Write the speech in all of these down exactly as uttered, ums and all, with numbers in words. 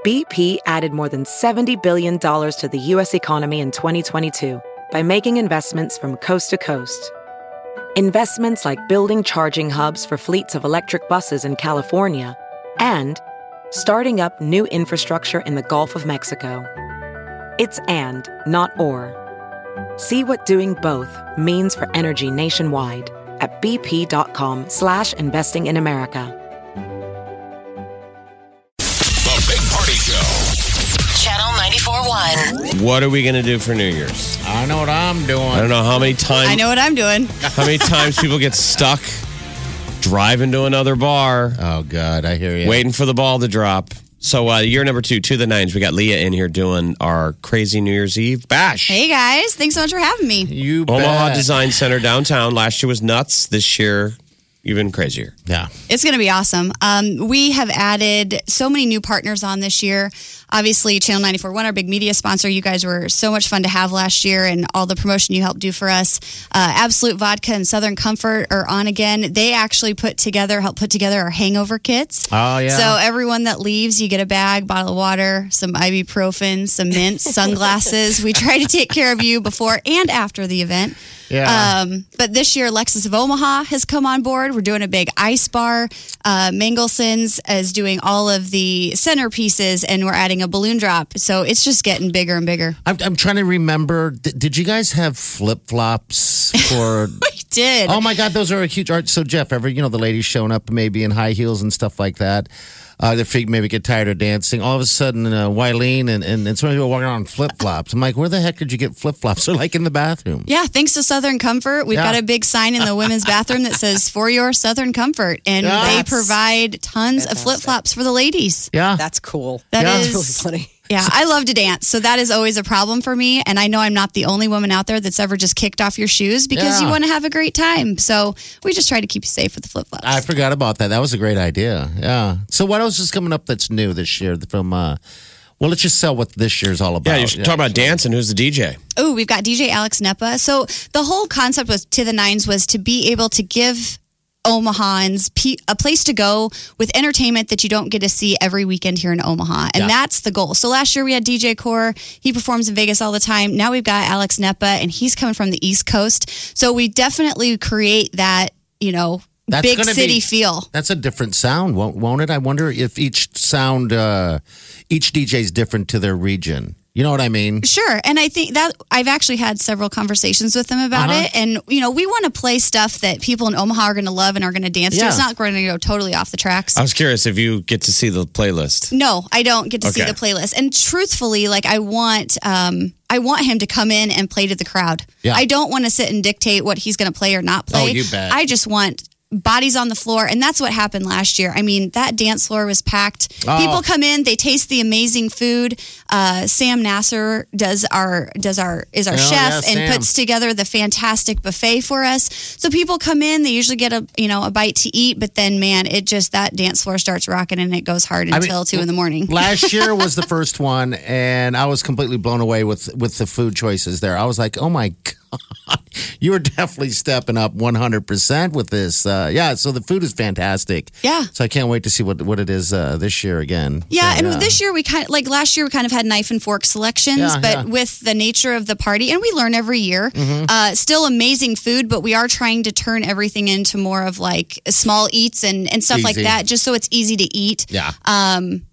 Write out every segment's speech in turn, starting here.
B P added more than seventy billion dollars to the U S economy in twenty twenty-two by making investments from coast to coast. Investments like building charging hubs for fleets of electric buses in California and starting up new infrastructure in the Gulf of Mexico. It's and, not or. See what doing both means for energy nationwide at bp.com slash investing in America. The Big Party Show. Channel ninety-four point one. What are we going to do for New Year's? I know what I'm doing. I don't know how many times. I know what I'm doing. How many times people get stuck driving to another bar, Oh, God, I hear you. waiting for the ball to drop. So, uh, year number two, to the nines. We got Leah in here doing our crazy New Year's Eve bash. Hey, guys. Thanks so much for having me. You Omaha bet. Design Center downtown. Last year was nuts. This year, even crazier. Yeah. It's going to be awesome. Um, we have added so many new partners on this year. Obviously, Channel ninety-four point one, our big media sponsor. You guys were so much fun to have last year, and all the promotion you helped do for us. Uh, Absolute Vodka and Southern Comfort are on again. They actually put together, helped put together our hangover kits. Oh, yeah. So everyone that leaves, you get a bag, bottle of water, some ibuprofen, some mints, sunglasses. We try to take care of you before and after the event. Yeah. Um, but this year, Lexus of Omaha has come on board. We're doing a big ice bar. Uh, Mangelson's is doing all of the centerpieces, and we're adding a balloon drop. So it's just getting bigger and bigger. I'm, I'm trying to remember. Did, did you guys have flip flops for? We did. Oh my God, those are a huge art. So Jeff, ever you know the ladies showing up maybe in high heels and stuff like that. Uh, their feet maybe get tired of dancing. All of a sudden, uh, Wileen and, and, and so many people walking around in flip flops. I'm like, where the heck did you get flip flops? They're like in the bathroom. Yeah, thanks to Southern Comfort. We've Yeah. got a big sign in the women's bathroom that says, for your Southern Comfort. And Yeah. they That's provide tons of flip flops for the ladies. Yeah. That's cool. That Yeah. is That's really funny. Yeah, I love to dance. So that is always a problem for me. And I know I'm not the only woman out there that's ever just kicked off your shoes because Yeah. you want to have a great time. So we just try to keep you safe with the flip flops. I forgot about that. That was a great idea. Yeah. So what else is coming up that's new this year from? Uh, well, let's just sell what this year's all about. Yeah, you're talking about dancing. Who's the D J? Oh, we've got D J Alex Nepa. So the whole concept with To the Nines was to be able to give Omahans a place to go with entertainment that you don't get to see every weekend here in Omaha. And Yeah. that's the goal. So last year we had D J Core. He performs in Vegas all the time. Now we've got Alex Nepa, and he's coming from the East Coast. So we definitely create that, you know, That's big gonna city be- feel. That's a different sound, won't, won't it? I wonder if each sound, uh, each D J is different to their region. You know what I mean? Sure. And I think that I've actually had several conversations with them about Uh-huh. it. And, you know, we want to play stuff that people in Omaha are going to love and are going to dance to. Yeah. It's not going to go totally off the tracks. I was curious if you get to see the playlist. No, I don't get to see Okay. the playlist. And truthfully, like I want um I want him to come in and play to the crowd. Yeah. I don't want to sit and dictate what he's going to play or not play. Oh, you bet. I just want bodies on the floor, and that's what happened last year. I mean, that dance floor was packed. Oh. People come in, they taste the amazing food. Uh, Sam Nasser does our does our is our Oh, chef yeah, and Sam. puts together the fantastic buffet for us. So people come in, they usually get a you know a bite to eat, but then man, it just that dance floor starts rocking and it goes hard I mean, until two in the morning. Last year was the first one, and I was completely blown away with with the food choices there. I was like, oh my God, you were definitely stepping up one hundred percent with this. Uh, yeah, so the food is fantastic. Yeah. So I can't wait to see what, what it is uh, this year again. Yeah, So, and this year we kind of like last year we kind of had knife and fork selections, Yeah, but yeah. with the nature of the party, and we learn every year. Mm-hmm. Uh, still amazing food, but we are trying to turn everything into more of like small eats and, and stuff like Easy. that, just so it's easy to eat. Yeah. Um,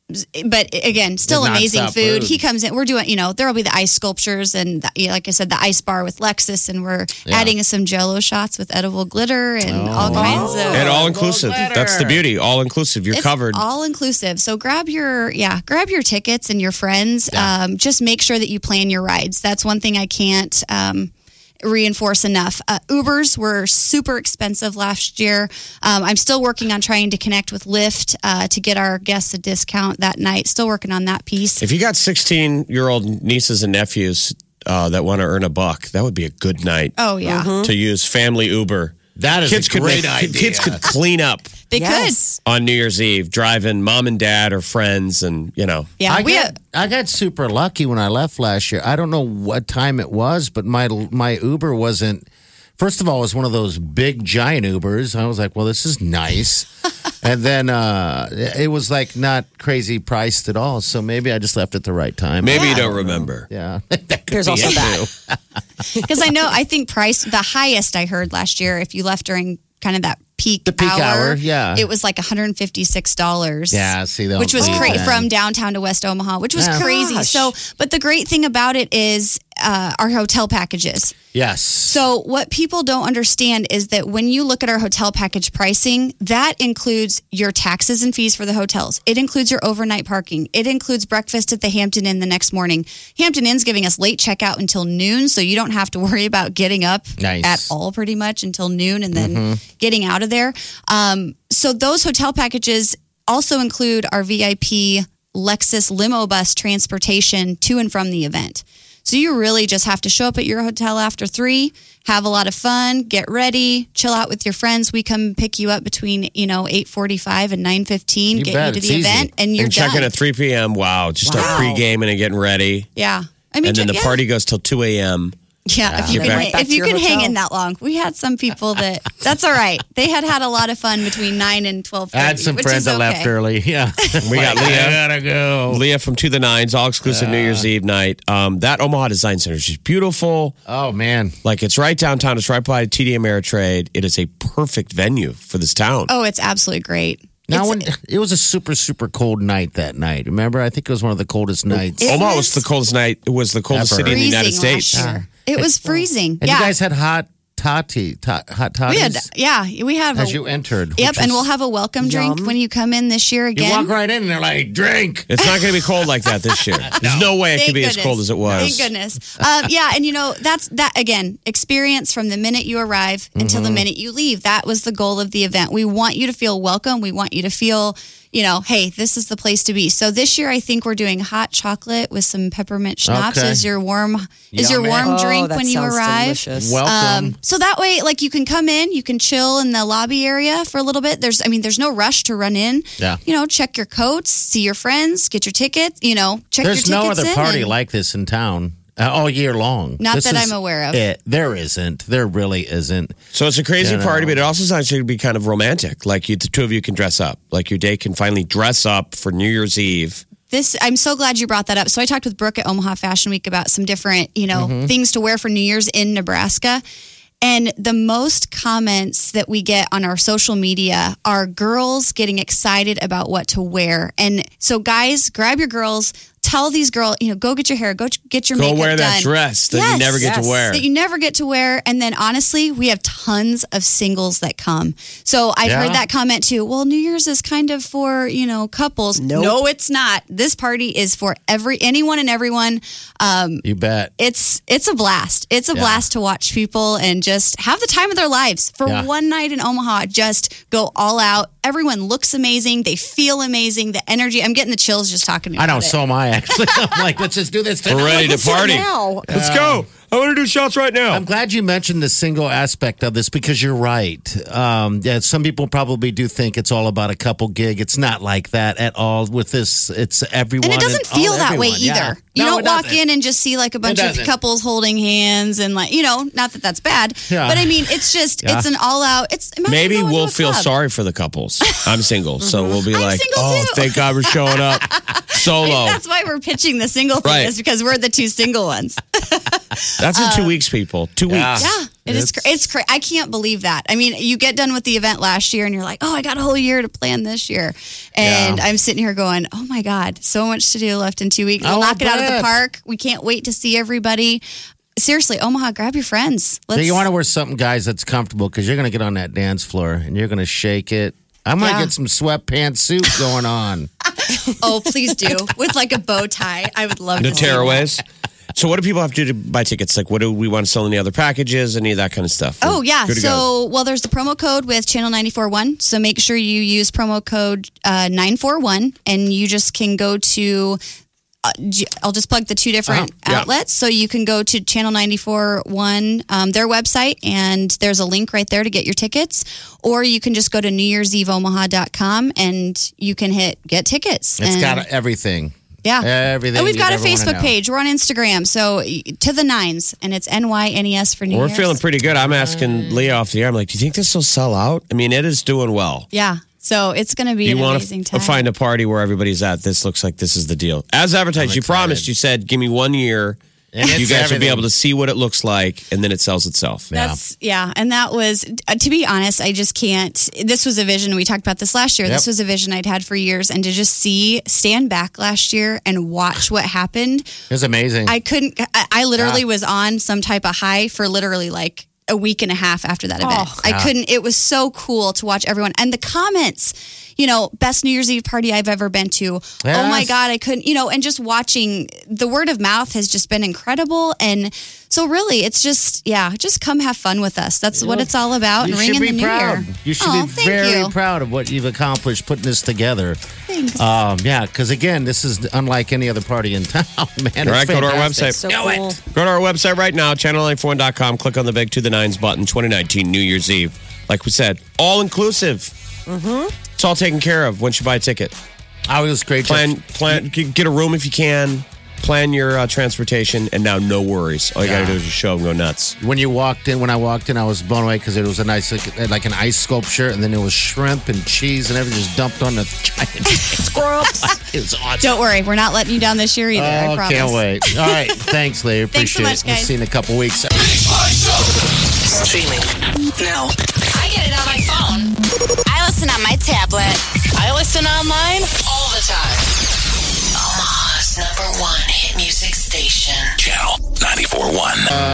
but again, still It's amazing nonstop food. food. He comes in. We're doing, you know, there will be the ice sculptures and, the, yeah, like I said, the ice bar with Lexus, and we're Yeah. adding some Jello shots with edible glitter and all kinds of. And all inclusive. better. That's the beauty. All inclusive. You're It's covered. all inclusive. So grab your yeah, grab your tickets and your friends. Um, just make sure that you plan your rides. That's one thing I can't um, reinforce enough. Uh, Ubers were super expensive last year. Um, I'm still working on trying to connect with Lyft uh, to get our guests a discount that night. Still working on that piece. If you got sixteen-year-old nieces and nephews uh, that want to earn a buck, that would be a good night Oh yeah, to use family Uber. That is Kids a could great make- idea. Kids could clean up they Yes. on New Year's Eve, driving mom and dad or friends, and you know. could. Yeah, I we got, have, I got super lucky when I left last year. I don't know what time it was, but my my Uber wasn't First of all, it was one of those big giant Ubers. I was like, well, this is nice. And then uh, it was like not crazy priced at all. So maybe I just left at the right time. Maybe yeah. you don't remember. Yeah. There's also that. Because I know, I think price, the highest I heard last year, if you left during kind of that peak, the peak hour, hour, yeah, it was like one hundred fifty-six dollars. Yeah, see that, which was crazy from downtown to West Omaha, which was yeah. crazy. Gosh. So, but the great thing about it is uh, our hotel packages. Yes. So what people don't understand is that when you look at our hotel package pricing, that includes your taxes and fees for the hotels. It includes your overnight parking. It includes breakfast at the Hampton Inn the next morning. Hampton Inn's giving us late checkout until noon, so you don't have to worry about getting up nice. at all pretty much until noon and then mm-hmm. getting out of there. Um, so those hotel packages also include our V I P Lexus limo bus transportation to and from the event. So you really just have to show up at your hotel after three, have a lot of fun, get ready, chill out with your friends. We come pick you up between, you know, eight forty-five and nine fifteen, you get bet. you to It's the easy. event, and you're and done. check in at three p.m. Wow. Just wow. start pre-gaming and getting ready. Yeah. I mean, and then the yeah. party goes till two a.m. Yeah, if you Get can, back. if you can hang in that long. We had some people that, that's all right. They had had a lot of fun between nine and twelve thirty. I had some which friends is that okay. left early. Yeah. We got Leah. I gotta go. Leah from To The Nines, all exclusive uh, New Year's Eve night. Um, that Omaha Design Center is just beautiful. Oh, man. Like, it's right downtown. It's right by T D Ameritrade. It is a perfect venue for this town. Oh, it's absolutely great. Now, when, it was a super, super cold night that night. Remember? I think it was one of the coldest nights. It Omaha was was the coldest night. It was the coldest Ever. city in the United Freezing States. last year. It was freezing. And yeah. you guys had hot toddy, to, hot toddies? We had, yeah, we have. As a, you entered. Yep, and we'll have a welcome drink Yum. when you come in this year again. You walk right in and they're like, drink. It's not going to be cold like that this year. There's no way it Thank could be goodness. as cold as it was. Thank goodness. Um, yeah, and you know, that's that again, experience from the minute you arrive mm-hmm. until the minute you leave. That was the goal of the event. We want you to feel welcome. We want you to feel, you know, hey, this is the place to be. So this year I think we're doing hot chocolate with some peppermint schnapps Okay. as your warm is your Yummy. warm Oh, drink that when you sounds arrive. delicious. Welcome. Um, so that way, like, you can come in, you can chill in the lobby area for a little bit. There's, I mean, there's no rush to run in. Yeah. You know, check your coats, see your friends, get your ticket. You know, check There's your no tickets other in party and- like this in town uh, all year long. Not This that is I'm aware of. It. There isn't. There really isn't. So it's a crazy You know. party, but it also sounds like to be kind of romantic. Like you, the two of you can dress up. Like your day can finally dress up for New Year's Eve. This, I'm so glad you brought that up. So I talked with Brooke at Omaha Fashion Week about some different, you know, Mm-hmm. things to wear for New Year's in Nebraska. And the most comments that we get on our social media are girls getting excited about what to wear. And so guys, grab your girls, tell these girls, you know, go get your hair, go get your Go makeup wear that done. dress that Yes. you never get Yes. to wear. That you never get to wear. And then honestly, we have tons of singles that come. So I've Yeah. heard that comment too. Well, New Year's is kind of for, you know, couples. Nope. No, it's not. This party is for every anyone and everyone. Um, You bet. it's it's a blast. It's a Yeah. blast to watch people and just have the time of their lives for Yeah. one night in Omaha. Just go all out. Everyone looks amazing. They feel amazing. The energy. I'm getting the chills just talking to you I know, about it. so am I, actually. I'm like, let's just do this. We're ready to party. now. Let's go. I want to do shots right now. I'm glad you mentioned the single aspect of this because you're right. Um, yeah, some people probably do think it's all about a couple gig. It's not like that at all. With this, it's everyone. And it doesn't all feel that way everyone. either. Yeah. You No, don't it walk doesn't. in and just see like a bunch of doesn't. couples holding hands and like, you know, not that that's bad. Yeah. But I mean, it's just, Yeah. it's an all out, it's imagine Maybe going to we'll a feel club. sorry for the couples. I'm single, so we'll be I'm like, single oh, too." thank God we're showing up solo. That's why we're pitching the single thing Right. is because we're the two single ones. That's in two weeks, people. Two Yeah. weeks. Yeah, it is. Cra- it's cra- I can't believe that. I mean, you get done with the event last year, and you're like, "Oh, I got a whole year to plan this year," and Yeah. I'm sitting here going, "Oh my God, so much to do left in two weeks. We'll Oh, I knock it out of the bet. park. We can't wait to see everybody." Seriously, Omaha, grab your friends. Let's. So you want to wear something, guys, that's comfortable because you're going to get on that dance floor and you're going to shake it. I might Yeah. get some sweatpants suit going on. Oh, please do with like a bow tie. I would love The to see that. tearaways. So what do people have to do to buy tickets? Like, what do we want to sell? Any other packages? Any of that kind of stuff? Oh, We're yeah. good to go. So, well, there's the promo code with Channel ninety-four point one. So make sure you use promo code uh, nine four one and you just can go to, uh, J- I'll just plug the two different Uh-huh. Yeah. outlets. So you can go to Channel ninety-four point one, um, their website, and there's a link right there to get your tickets. Or you can just go to new year's eve omaha dot com and you can hit get tickets. It's and got everything. Yeah. Everything. And we've got a you'd ever wanna Facebook know. page. We're on Instagram. So to the nines, and it's N Y N E S for New We're Year's. feeling pretty good. I'm asking Leah off the air. I'm like, do you think this will sell out? I mean, it is doing well. Yeah. So it's going to be You an want amazing to time. find a party where everybody's at. This looks like this is the deal. As advertised, I'm you excited. promised. You said, give me one year. And You it's guys will be everything. able to see what it looks like, and then it sells itself. Yeah. That's yeah, and that was uh, to be honest, I just can't. This was a vision we talked about this last year. Yep. This was a vision I'd had for years, and to just see stand back last year and watch what happened, It was amazing. I couldn't. I, I literally Yeah. was on some type of high for literally like a week and a half after that event. I Yeah. couldn't. It was so cool to watch everyone and the comments. You know, best New Year's Eve party I've ever been to. Oh my Yes. God, I couldn't, you know, and just watching the word of mouth has just been incredible. And so, really, it's just, yeah, just come have fun with us. That's what it's all about. you And ring should in be the new proud. year. You should Oh, be thank very you. proud of what you've accomplished putting this together. Thanks. Um, yeah, because again, this is unlike any other party in town, man. All right, It's go to our fantastic. website. So Go cool. it. Go to our website right now, channel nine four one dot com. Click on the big to the nines button. twenty nineteen New Year's Eve. Like we said, all inclusive. Mm-hmm. It's all taken care of once you buy a ticket. Oh, it was great. Plan, plan, g- get a room if you can. Plan your uh, transportation, and now no worries. All you got Yeah. to do is just show and go nuts. When you walked in, when I walked in, I was blown away because it was a nice, like, like an ice sculpture, and then it was shrimp and cheese and everything just dumped on the giant. Scrubs. It was awesome. Don't worry, we're not letting you down this year either. I Oh, promise. can't wait. All right. Thanks, Lee. Thanks so Appreciate much, it. We'll guys. see you in a couple weeks. Big Party Show. Streaming now. I get it on my phone. I listen on my tablet. I listen online. All the time. Omaha's number one hit music station. Channel ninety-four point one.